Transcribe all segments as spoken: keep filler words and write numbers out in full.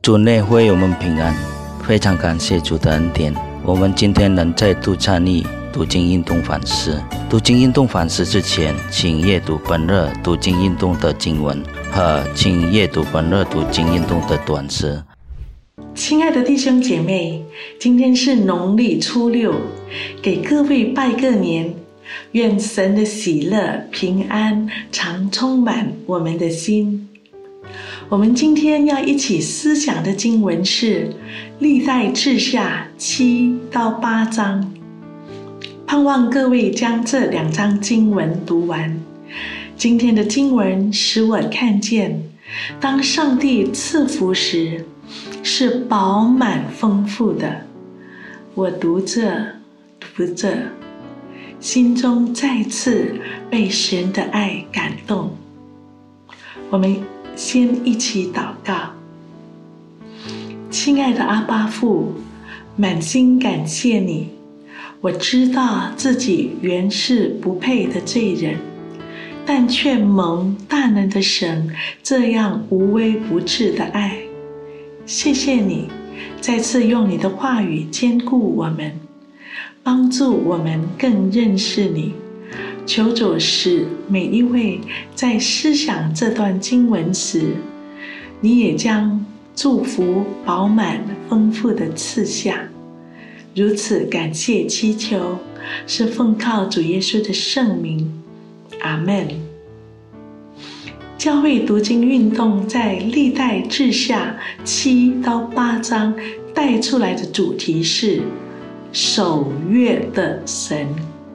主内会友们平安，非常感谢主的恩典，我们今天能再度参与读经运动反思。读经运动反思之前，请阅读本日读经运动的经文和请阅读本日读经运动的短诗。 亲爱的弟兄姐妹，今天是农历初六，给各位拜个年，愿神的喜乐平安常充满我们的心。我们今天要一起思想的经文是历代志下七到八章，盼望各位将这两章经文读完。今天的经文使我看见，当上帝赐福时是饱满丰富的。我读着读着，心中再次被神的爱感动。我们先一起祷告。亲爱的阿爸父，满心感谢你，我知道自己原是不配的罪人，但却蒙大能的神这样无微不至的爱。谢谢你再次用你的话语坚固我们，帮助我们更认识你。求主使每一位在思想这段经文时，你也将祝福饱满丰富的赐下。如此感谢祈求，是奉靠主耶稣的圣名，阿们。教会读经运动在历代志下七到八章带出来的主题是守约的神。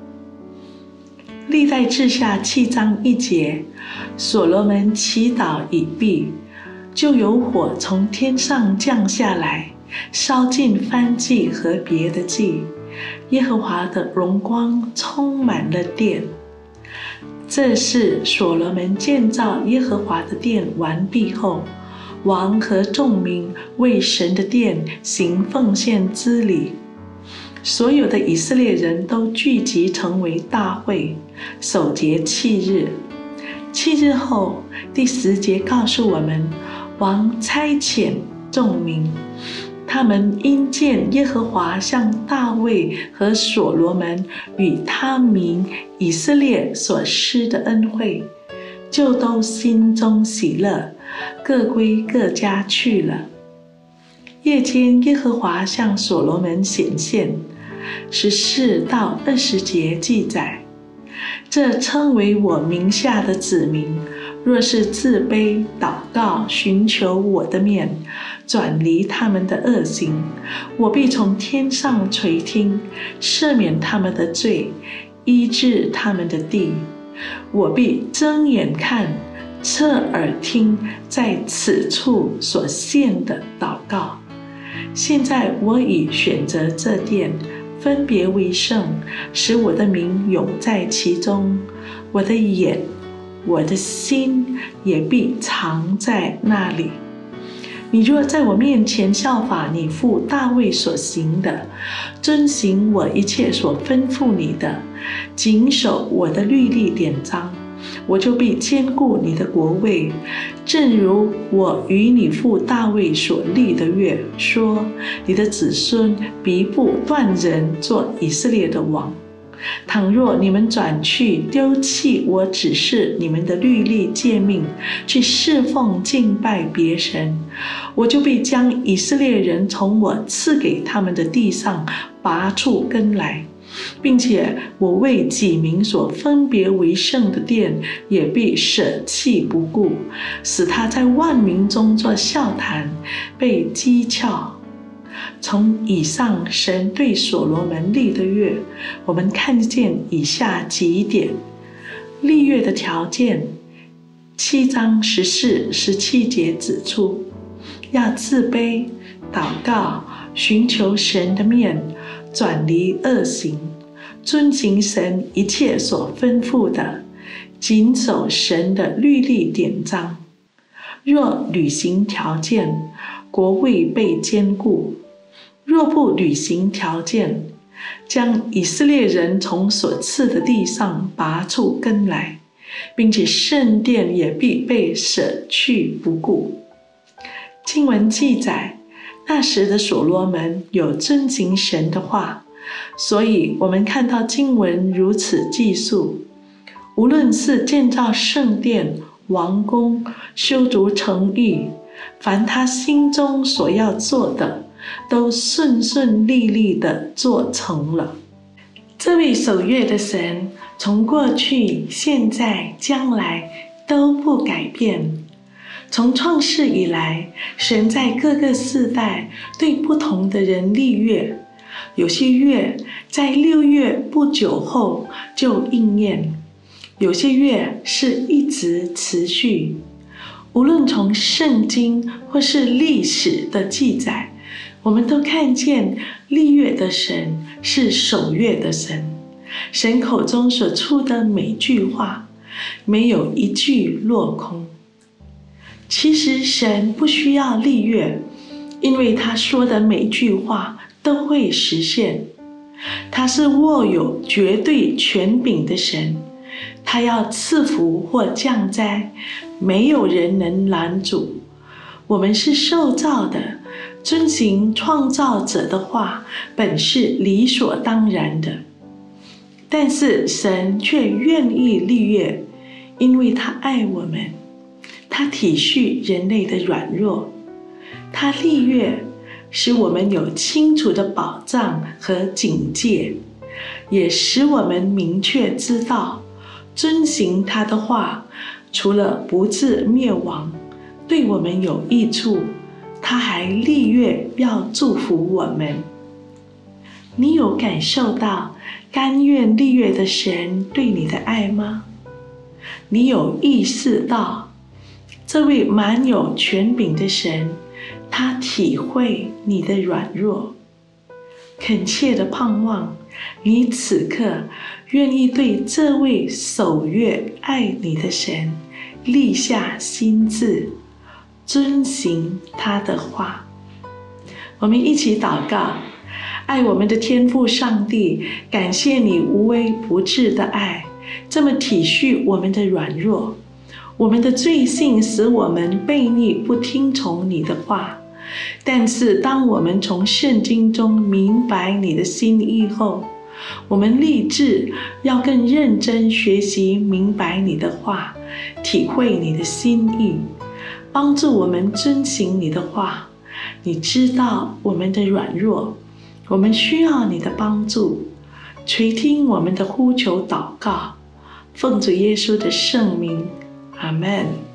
历代志下七章一节，所罗门祈祷已毕，就有火从天上降下来，烧尽燔祭和别的祭，耶和华的荣光充满了殿。这是所罗门建造耶和华的殿完毕后，王和众民为神的殿行奉献之礼。所有的以色列人都聚集成为大会，守节七日。七日后，第十节告诉我们，王差遣众民，他们因见耶和华向大卫和所罗门与他民以色列所施的恩惠，就都心中喜乐，各归各家去了。夜间，耶和华向所罗门显现，十四到二十节记载，这称为我名下的子民，若是自卑祷告，寻求我的面，转离他们的恶行，我必从天上垂听，赦免他们的罪，医治他们的地。我必睁眼看，侧耳听，在此处所献的祷告。现在我已选择这殿，分别为圣，使我的名永在其中。我的眼，我的心也必藏在那里。你若在我面前效法你父大卫所行的，遵行我一切所吩咐你的，谨守我的律例典章，我就必坚固你的国位，正如我与你父大卫所立的约，说你的子孙必不断人做以色列的王。倘若你们转去丢弃我指示你们的律例诫命，去侍奉敬拜别神，我就必将以色列人从我赐给他们的地上拔出根来，并且我为己民所分别为圣的殿也必舍弃不顾，使他在万民中做笑谈，被讥诮。从以上神对所罗门立的约，我们看见以下几点。立约的条件，七章十四、十七节指出，要自卑、祷告、寻求神的面，转离恶行，遵行神一切所吩咐的，谨守神的律例典章。若履行条件，国位被坚固；若不履行条件，将以色列人从所赐的地上拔出根来，并且圣殿也必被舍去不顾。 经文记载，那时的所罗门有遵行神的话，所以我们看到经文如此记述，无论是建造圣殿、王宫、修筑城邑，凡他心中所要做的，都顺顺利利地做成了。这位守约的神，从过去、现在、将来都不改变。从创世以来，神在各个世代对不同的人立约，有些约在六月不久后就应验，有些约是一直持续。无论从圣经或是历史的记载，我们都看见立约的神是守约的神。神口中所出的每句话，没有一句落空。其实神不需要立约，因为他说的每句话都会实现。他是握有绝对权柄的神，他要赐福或降灾，没有人能拦阻。我们是受造的，遵行创造者的话，本是理所当然的。但是神却愿意立约，因为他爱我们，他体恤人类的软弱，他立约使我们有清楚的保障和警戒，也使我们明确知道，遵行他的话，除了不致灭亡，对我们有益处，他还立约要祝福我们。你有感受到甘愿立约的神对你的爱吗？你有意识到这位满有权柄的神，他体会你的软弱，恳切的盼望你此刻愿意对这位守约爱你的神立下心志，遵行他的话。我们一起祷告。爱我们的天父上帝，感谢你无微不至的爱，这么体恤我们的软弱。我们的罪性使我们悖逆不听从你的话，但是当我们从圣经中明白你的心意后，我们立志要更认真学习明白你的话，体会你的心意，帮助我们遵行你的话。你知道我们的软弱，我们需要你的帮助，垂听我们的呼求祷告，奉主耶稣的圣名，阿们。